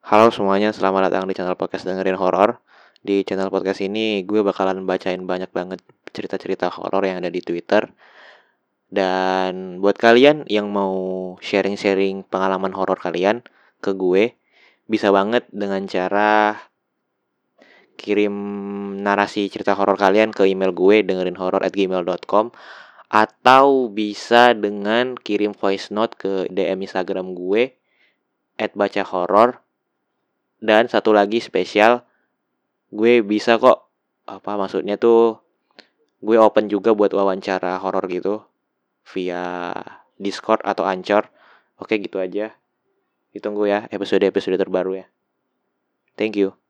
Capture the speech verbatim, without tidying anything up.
Halo semuanya, selamat datang di channel podcast dengerin horor. Di channel podcast ini gue bakalan bacain banyak banget cerita-cerita horor yang ada di Twitter. Dan buat kalian yang mau sharing-sharing pengalaman horor kalian ke gue, bisa banget dengan cara kirim narasi cerita horor kalian ke email gue dengerinhoror at gmail dot com, atau bisa dengan kirim voice note ke D M Instagram gue at baca horor. Dan satu lagi spesial, gue bisa kok, apa maksudnya tuh, gue open juga buat wawancara horor gitu via Discord atau Anchor. Oke, gitu aja. Ditunggu ya episode-episode terbaru ya. Thank you.